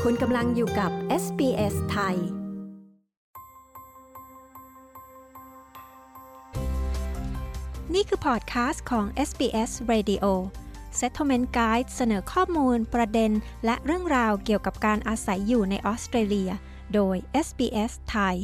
คุณกำลังอยู่กับ SBS ไทยนี่คือพอดคาสต์ของ SBS Radio Settlement Guide เสนอข้อมูลประเด็นและเรื่องราวเกี่ยวกับการอาศัยอยู่ในออสเตรเลียโดย SBS ไทย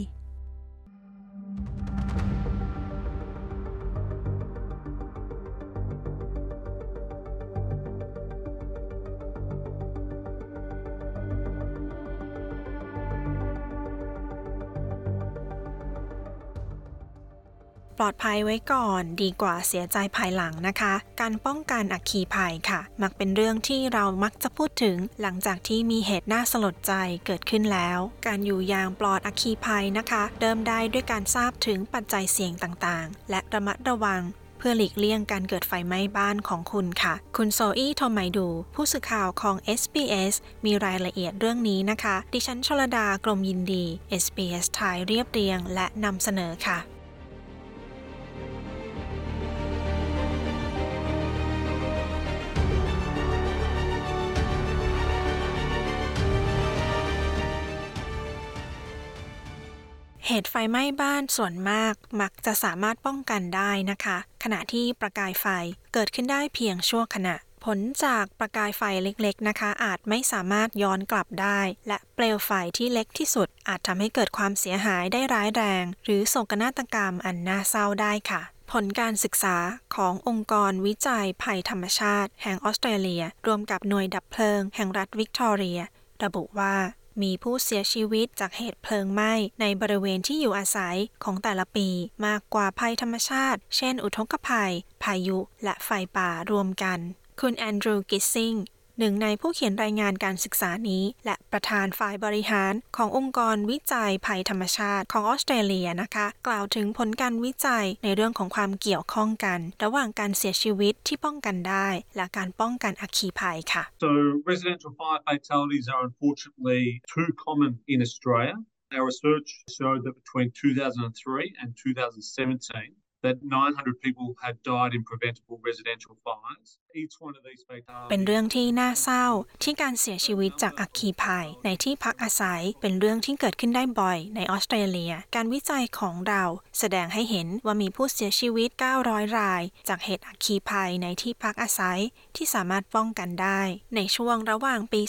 ปลอดภัยไว้ก่อนดีกว่าเสียใจภายหลังนะคะการป้องกันอัคคีภัยค่ะมักเป็นเรื่องที่เรามักจะพูดถึงหลังจากที่มีเหตุน่าสลดใจเกิดขึ้นแล้วการอยู่อย่างปลอดอัคคีภัยนะคะเริ่มได้ด้วยการทราบถึงปัจจัยเสี่ยงต่างๆและระมัดระวังเพื่อหลีกเลี่ยงการเกิดไฟไหม้บ้านของคุณค่ะคุณโซอี้โทมัยดูผู้สื่อข่าวของ SBS มีรายละเอียดเรื่องนี้นะคะดิฉันชลดากรมยินดี SBS ไทยเรียบเรียงและนำเสนอค่ะเหตุไฟไหม้บ้านส่วนมากมักจะสามารถป้องกันได้นะคะขณะที่ประกายไฟเกิดขึ้นได้เพียงชั่วขณะผลจากประกายไฟเล็กๆนะคะอาจไม่สามารถย้อนกลับได้และเปลวไฟที่เล็กที่สุดอาจทำให้เกิดความเสียหายได้ร้ายแรงหรือโศกนาฏกรรมอันน่าเศร้าได้ค่ะผลการศึกษาขององค์กรวิจัยภัยธรรมชาติแห่งออสเตรเลียรวมกับหน่วยดับเพลิงแห่งรัฐวิกตอเรียระบุว่ามีผู้เสียชีวิตจากเหตุเพลิงไหม้ในบริเวณที่อยู่อาศัยของแต่ละปีมากกว่าภัยธรรมชาติเช่นอุทกภัยพายุและไฟป่ารวมกันคุณแอนดรูว์กิสซิงหนึ่งในผู้เขียนรายงานการศึกษานี้และประธานฝ่ายบริหารขององค์กรวิจัยภัยธรรมชาติของออสเตรเลียนะคะกล่าวถึงผลการวิจัยในเรื่องของความเกี่ยวข้องกันระหว่างการเสียชีวิตที่ป้องกันได้และการป้องกันอัคคีภัยค่ะ So residential fire fatalities are unfortunately too common in Australia. Our research showed that between 2003 and 2017 that 900 people had died in preventable residential fires. Each one of these fatalities เป็นเรื่องที่น่าเศร้าที่การเสียชีวิตจากอัคคีภัยในที่พักอาศัยเป็นเรื่องที่เกิดขึ้นได้บ่อยในออสเตรเลียการวิจัยของเราแสดงให้เห็นว่ามีผู้เสียชีวิต900รายจากเหตุอัคคีภัยในที่พักอาศัยที่สามารถป้องกันได้ในช่วงระหว่างปี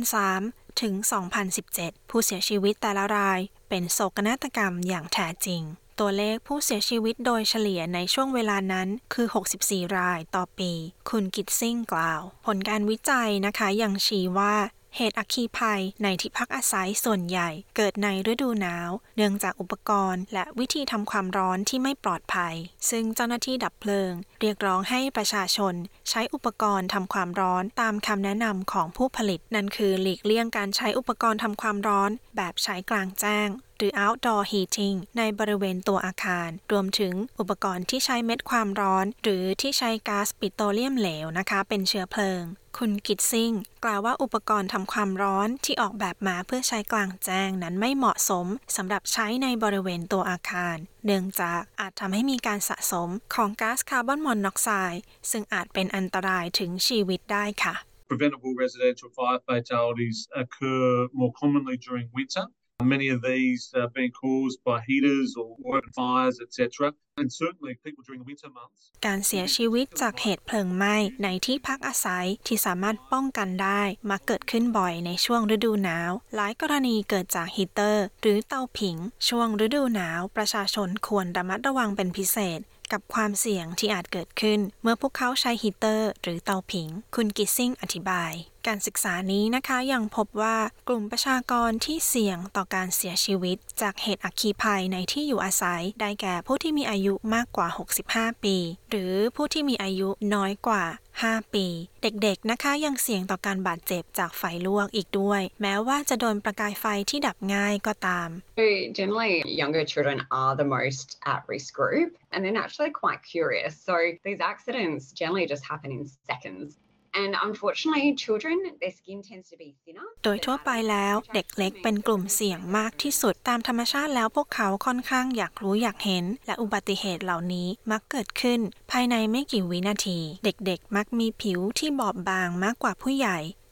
2003 ถึง 2017 ผู้เสียชีวิตแต่ละรายเป็นโศกนาฏกรรมอย่างแท้จริงตัวเลขผู้เสียชีวิตโดยเฉลี่ยในช่วงเวลานั้นคือ64รายต่อปีคุณกิตซิงกล่าวผลการวิจัยนะคะยังชี้ว่าเหตุอัคคีภัยในที่พักอาศัยส่วนใหญ่เกิดในฤดูหนาวเนื่องจากอุปกรณ์และวิธีทำความร้อนที่ไม่ปลอดภัยซึ่งเจ้าหน้าที่ดับเพลิงเรียกร้องให้ประชาชนใช้อุปกรณ์ทำความร้อนตามคำแนะนำของผู้ผลิตนั่นคือหลีกเลี่ยงการใช้อุปกรณ์ทำความร้อนแบบใช้กลางแจ้งหรือ outdoor heating ในบริเวณตัวอาคารรวมถึงอุปกรณ์ที่ใช้เม็ดความร้อนหรือที่ใช้ก๊าซปิโตรเลียมเหลวนะคะเป็นเชื้อเพลิงคุณกิตซิงกล่าวว่าอุปกรณ์ทำความร้อนที่ออกแบบมาเพื่อใช้กลางแจ้งนั้นไม่เหมาะสมสำหรับใช้ในบริเวณตัวอาคารเนื่องจากอาจทำให้มีการสะสมของก๊าซคาร์บอนมอนอกไซด์ซึ่งอาจเป็นอันตรายถึงชีวิตได้ค่ะ Preventable residential fire fatalities occur more commonly during winter.Many of these are being caused by heaters or open fires, etc. And certainly people during the winter months. การเสียชีวิตจากเหตุเพลิงไหม้ในที่พักอาศัยที่สามารถป้องกันได้มักเกิดขึ้นบ่อยในช่วงฤดูหนาวหลายกรณีเกิดจากฮีเตอร์หรือเตาผิงช่วงฤดูหนาวประชาชนควรระมัดระวังเป็นพิเศษกับความเสี่ยงที่อาจเกิดขึ้นเมื่อพวกเขาใช้ฮีเตอร์หรือเตาผิงคุณกิสซิงอธิบายการศึกษานี้นะคะยังพบว่ากลุ่มประชากรที่เสี่ยงต่อการเสียชีวิตจากเหตุอัคคีภัยในที่อยู่อาศัยได้แก่ผู้ที่มีอายุมากกว่า65ปีหรือผู้ที่มีอายุน้อยกว่า5ปีเด็กๆนะคะยังเสี่ยงต่อการบาดเจ็บจากไฟลวกอีกด้วยแม้ว่าจะโดนประกายไฟที่ดับง่ายก็ตาม So generally younger children are the most at risk group and they're naturally quite curious so these accidents generally just happen in seconds.And unfortunately, children, their skin tends to be thinner. โดยทั่วไปแล้วเด็กเล็กเป็นกลุ่มเสี่ยงมากที่สุดตามธรรมชาติแล้วพวกเขาค่อนข้างอยากรู้อยากเห็นและอุบัติเหตุเหล่านี้มักเกิดขึ้นภายในไม่กี่วินาทีเด็กๆมักมีผิวที่บอบบางมากกว่าผู้ใหญ่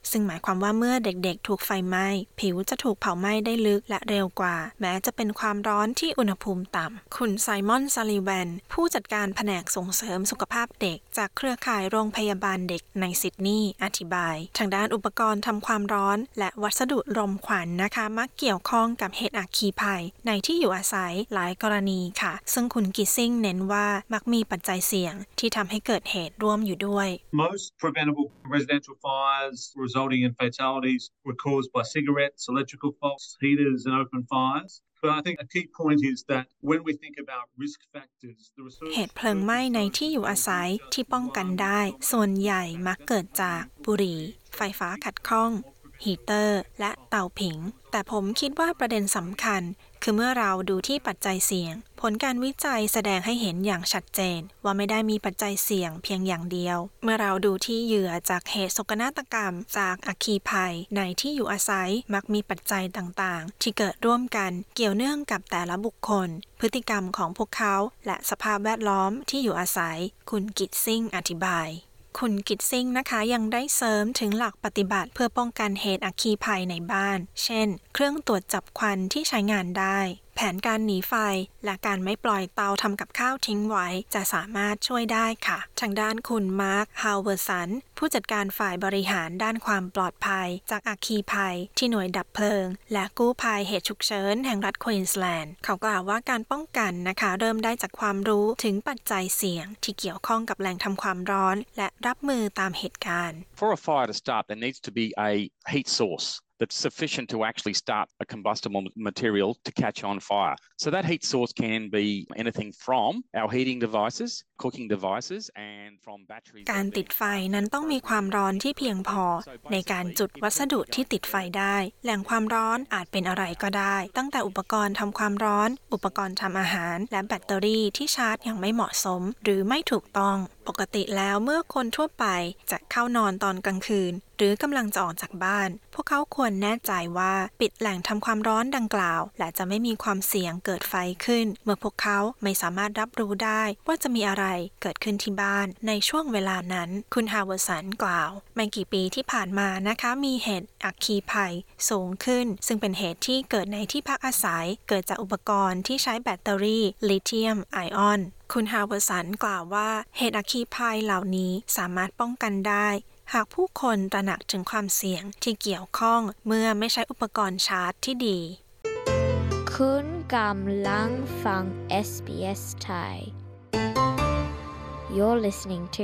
ซึ่งหมายความว่าเมื่อเด็กๆถูกไฟไหม้ผิวจะถูกเผาไหม้ได้ลึกและเร็วกว่าแม้จะเป็นความร้อนที่อุณหภูมิต่ำคุณไซมอนซัลลิแวนผู้จัดการแผนกส่งเสริมสุขภาพเด็กจากเครือข่ายโรงพยาบาลเด็กในซิดนีย์อธิบายทางด้านอุปกรณ์ทำความร้อนและวัสดุรมควันนะคะมักเกี่ยวข้องกับเหตุอัคคีภัยในที่อยู่อาศัยหลายกรณีค่ะซึ่งคุณกิซซิ่งเน้นว่ามักมีปัจจัยเสี่ยงที่ทำให้เกิดเหตุร่วมอยู่ด้วย Most preventable residential fires resulting in fatalities were caused by cigarettes, electrical faults, heaters and open fires. But I think a key point is that when we think about risk factors, the research เหตุเพลิงไหม้ในที่อยู่อาศัยที่ป้องกันได้ส่วนใหญ่มักเกิดจากบุหรี่ไฟฟ้าขัดข้องฮีเตอร์และเตาผิงแต่ผมคิดว่าประเด็นสำคัญคือเมื่อเราดูที่ปัจจัยเสี่ยงผลการวิจัยแสดงให้เห็นอย่างชัดเจนว่าไม่ได้มีปัจจัยเสี่ยงเพียงอย่างเดียวเมื่อเราดูที่เหยื่อจากเหตุโศกนาฏกรรมจากอัคคีภัยในที่อยู่อาศัยมักมีปัจจัยต่างๆที่เกิดร่วมกันเกี่ยวเนื่องกับแต่ละบุคคลพฤติกรรมของพวกเขาและสภาพแวดล้อมที่อยู่อาศัยคุณกิตซิ่งอธิบายคุณกิตซิ่งนะคะยังได้เสริมถึงหลักปฏิบัติเพื่อป้องกันเหตุอัคคีภัยในบ้านเช่นเครื่องตรวจจับควันที่ใช้งานได้แผนการหนีไฟและการไม่ปล่อยเตาทำกับข้าวทิ้งไว้จะสามารถช่วยได้ค่ะทางด้านคุณมาร์คฮาวเวอร์สันผู้จัดการฝ่ายบริหารด้านความปลอดภัยจากอัคคีภัยที่หน่วยดับเพลิงและกู้ภัยเหตุฉุกเฉินแห่งรัฐควีนสแลนด์เขากล่าวว่าการป้องกันนะคะเริ่มได้จากความรู้ถึงปัจจัยเสี่ยงที่เกี่ยวข้องกับแหล่งทำความร้อนและรับมือตามเหตุการณ์ For a fire to start, there needs to be a heat source that's sufficient to actually start a combustible material to catch on fire. So that heat source can be anything from our heating devices, cooking devices, and from batteries. การติดไฟนั้นต้องมีความร้อนที่เพียงพอในการจุดวัสดุที่ติดไฟได้แหล่งความร้อนอาจเป็นอะไรก็ได้ตั้งแต่อุปกรณ์ทำความร้อนอุปกรณ์ทำอาหารและแบตเตอรี่ที่ชาร์จอย่างไม่เหมาะสมหรือไม่ถูกต้องปกติแล้วเมื่อคนทั่วไปจะเข้านอนตอนกลางคืนหรือกำลังจะออกจากบ้านพวกเขาควรแน่ใจว่าปิดแหล่งทำความร้อนดังกล่าวและจะไม่มีความเสี่ยงเกิดไฟขึ้นเมื่อพวกเขาไม่สามารถรับรู้ได้ว่าจะมีอะไรเกิดขึ้นที่บ้านในช่วงเวลานั้นคุณฮาวเวอร์สันกล่าวไม่กี่ปีที่ผ่านมานะคะมีเหตุอัคคีภัยสูงขึ้นซึ่งเป็นเหตุที่เกิดในที่พักอาศัยเกิดจากอุปกรณ์ที่ใช้แบตเตอรี่ลิเธียมไอออนคุณฮาวเวอร์สันกล่าวว่าเหตุอัคคีภัยเหล่านี้สามารถป้องกันได้หากผู้คนตระหนักถึงความเสี่ยงที่เกี่ยวข้องเมื่อไม่ใช้อุปกรณ์ชาร์จที่ดีคุณกำลังฟัง SBS Thai You're listening to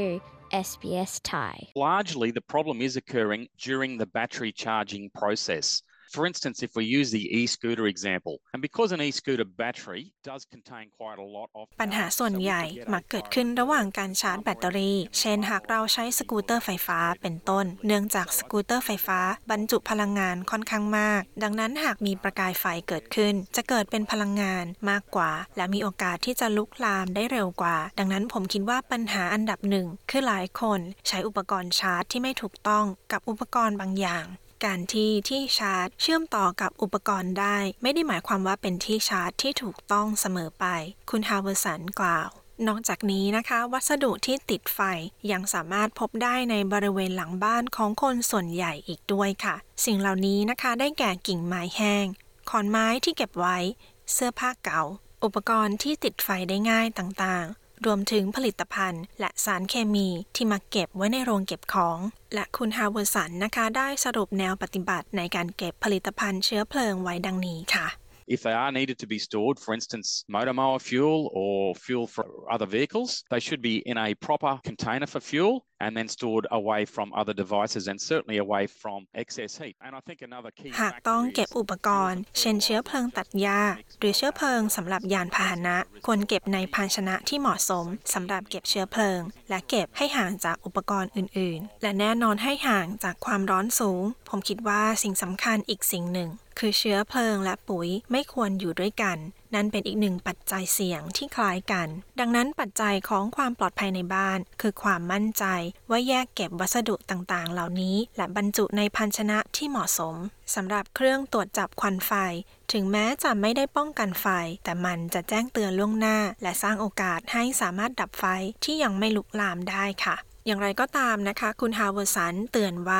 SBS Thai Largely, the problem is occurring during the battery charging process.For instance, if we use the e-scooter example, and because an e-scooter battery does contain quite a lot of ปัญหาส่วนใหญ่มักเกิดขึ้นระหว่างการชาร์จแบตเตอรี่เช่นหากเราใช้สกูตเตอร์ไฟฟ้าเป็นต้นเนื่องจากสกูตเตอร์ไฟฟ้าบรรจุพลังงานค่อนข้างมากดังนั้นหากมีประกายไฟเกิดขึ้นจะเกิดเป็นพลังงานมากกว่าและมีโอกาสที่จะลุกลามได้เร็วกว่าดังนั้นผมคิดว่าปัญหาอันดับหนึ่งคือหลายคนใช้อุปกรณ์ชาร์จที่ไม่ถูกต้องกับอุปกรณ์บางอย่างการที่ชาร์จเชื่อมต่อกับอุปกรณ์ได้ไม่ได้หมายความว่าเป็นที่ชาร์จที่ถูกต้องเสมอไปคุณฮาวเวอร์สันกล่าวนอกจากนี้นะคะวัสดุที่ติดไฟยังสามารถพบได้ในบริเวณหลังบ้านของคนส่วนใหญ่อีกด้วยค่ะสิ่งเหล่านี้นะคะได้แก่กิ่งไม้แห้งขอนไม้ที่เก็บไว้เสื้อผ้าเก่าอุปกรณ์ที่ติดไฟได้ง่ายต่างๆรวมถึงผลิตภัณฑ์และสารเคมีที่มาเก็บไว้ในโรงเก็บของและคุณฮาวเวอร์สันนะคะได้สรุปแนวปฏิบัติในการเก็บผลิตภัณฑ์เชื้อเพลิงไว้ดังนี้ค่ะ If they are needed to be stored, for instance, motor mower fuel or fuel for other vehicles, they should be in a proper container for fuel and then stored away from other devices and certainly away from excess heat. And I think another key หากต้องเก็บอุปกรณ์เช่นเชื้อเพลิงตัดหญ้าหรือเชื้อเพลิงสำหรับยานพาหนะควรเก็บในภาชนะที่เหมาะสมสำหรับเก็บเชื้อเพลิงและเก็บให้ห่างจากอุปกรณ์อื่นๆและแน่นอนให้ห่างจากความร้อนสูงผมคิดว่าสิ่งสำคัญอีกสิ่งหนึ่งคือเชื้อเพลิงและปุ๋ยไม่ควรอยู่ด้วยกันนั่นเป็นอีกหนึ่งปัจจัยเสี่ยงที่คล้ายกันดังนั้นปัจจัยของความปลอดภัยในบ้านคือความมั่นใจว่าแยกเก็บวัสดุต่างๆเหล่านี้และบรรจุในภาชนะที่เหมาะสมสำหรับเครื่องตรวจจับควันไฟถึงแม้จะไม่ได้ป้องกันไฟแต่มันจะแจ้งเตือนล่วงหน้าและสร้างโอกาสให้สามารถดับไฟที่ยังไม่ลุกลามได้ค่ะอย่างไรก็ตามนะคะคุณฮาวเวอร์สันเตือนว่า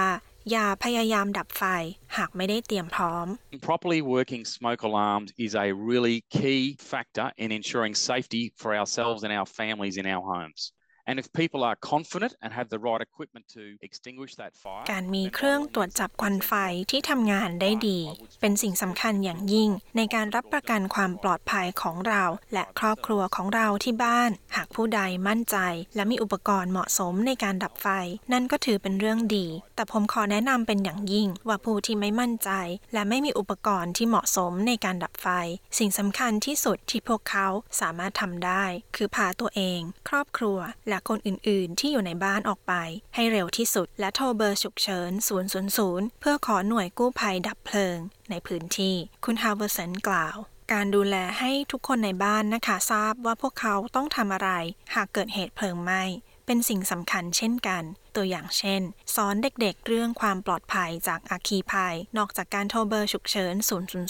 อย่าพยายามดับไฟหากไม่ได้เตรียมพร้อม Properly working smoke alarms is a really key factor in ensuring safety for ourselves and our families in our homes.And if people are confident and have the right equipment to extinguish that fire การมีเครื่องตรวจจับควันไฟที่ทำงานได้ดีเป็นสิ่งสำคัญอย่างยิ่งในการรับประกันความปลอดภัยของเราและครอบครัวของเราที่บ้านหากผู้ใดมั่นใจและมีอุปกรณ์เหมาะสมในการดับไฟนั่นก็ถือเป็นเรื่องดีแต่ผมขอแนะนำเป็นอย่างยิ่งว่าผู้ที่ไม่มั่นใจและไม่มีอุปกรณ์ที่เหมาะสมในการดับไฟสิ่งสำคัญที่สุดที่พวกเขาสามารถทำได้คือพาตัวเองครอบครัวและคนอื่นๆที่อยู่ในบ้านออกไปให้เร็วที่สุดและโทรเบอร์ฉุกเฉิน000เพื่อขอหน่วยกู้ภัยดับเพลิงในพื้นที่คุณฮาวเวอร์สันกล่าวการดูแลให้ทุกคนในบ้านนะคะทราบว่าพวกเขาต้องทำอะไรหากเกิดเหตุเพลิงไหม้เป็นสิ่งสำคัญเช่นกันตัวอย่างเช่นสอนเด็กๆเรื่องความปลอดภัยจากอัคคีภัยนอกจากการโทรเบอร์ฉุกเฉิน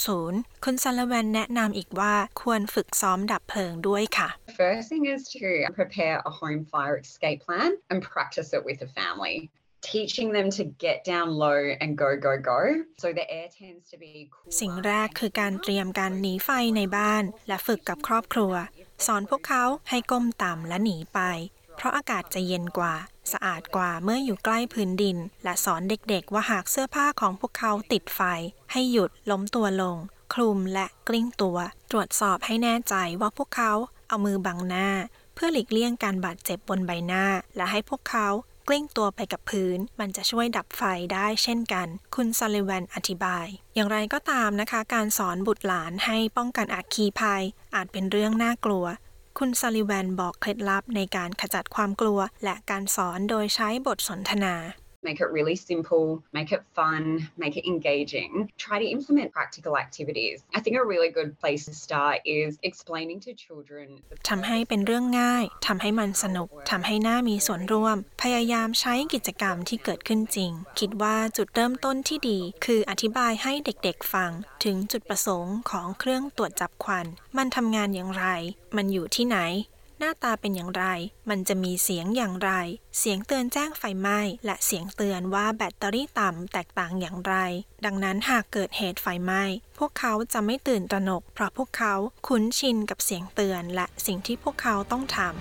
000คุณซัลลิแวนแนะนำอีกว่าควรฝึกซ้อมดับเพลิงด้วยค่ะ First thing is to prepare a home fire escape plan and practice it with the family.Teaching them to get down low and go so the air tends to be cooler สิ่งแรกคือการเตรียมการหนีไฟในบ้านและฝึกกับครอบครัวสอนพวกเขาให้ก้มต่ำและหนีไปเพราะอากาศจะเย็นกว่าสะอาดกว่าเมื่ออยู่ใกล้พื้นดินและสอนเด็กๆว่าหากเสื้อผ้าของพวกเขาติดไฟให้หยุดล้มตัวลงคลุมและกลิ้งตัวตรวจสอบให้แน่ใจว่าพวกเขาเอามือบังหน้าเพื่อหลีกเลี่ยงการบาดเจ็บบนใบหน้าและให้พวกเขากลิ้งตัวไปกับพื้นมันจะช่วยดับไฟได้เช่นกันคุณซัลลิแวนอธิบายอย่างไรก็ตามนะคะการสอนบุตรหลานให้ป้องกันอัคคีภัยอาจเป็นเรื่องน่ากลัวคุณซัลลิแวนบอกเคล็ดลับในการขจัดความกลัวและการสอนโดยใช้บทสนทนา Make it really simple, make it fun, make it engaging. Try to implement practical activities. I think a really good place to start is explaining to children. ทำให้เป็นเรื่องง่ายทำให้มันสนุกทำให้น่ามีส่วนร่วมพยายามใช้กิจกรรมที่เกิดขึ้นจริงคิดว่าจุดเริ่มต้นที่ดีคืออธิบายให้เด็กๆฟังถึงจุดประสงค์ของเครื่องตรวจจับควันมันทำงานอย่างไรมันอยู่ที่ไหนหน้าตาเป็นอย่างไรมันจะมีเสียงอย่างไรเสียงเตือนแจ้งไฟไหม้และเสียงเตือนว่าแบตเตอรี่ต่ำแตกต่างอย่างไรดังนั้นหากเกิดเหตุไฟไหม้พวกเขาจะไม่ตื่นตระหนกเพราะพวกเขาคุ้นชินกับเสียงเตือนและสิ่งที่พวกเขาต้องทำ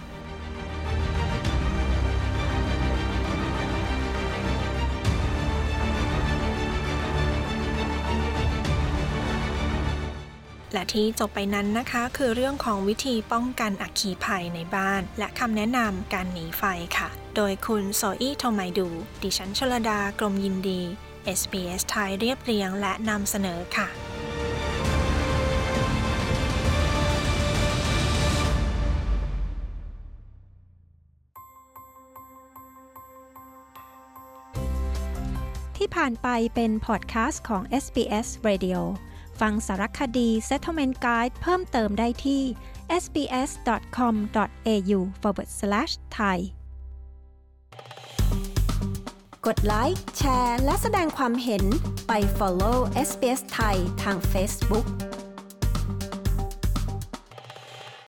และที่จบไปนั้นนะคะคือเรื่องของวิธีป้องกันอัคคีภัยในบ้านและคำแนะนำการหนีไฟค่ะโดยคุณโซอี้โทไมดูดิฉันชลดากรมยินดี SBS ไทยเรียบเรียงและนำเสนอค่ะที่ผ่านไปเป็นพอดแคสต์ของ SBS Radioฟังสารคดี Settlement Guide เพิ่มเติมได้ที่ sbs.com.au/thai กดไลค์แชร์และแสดงความเห็นไป follow SBS Thai ทาง Facebook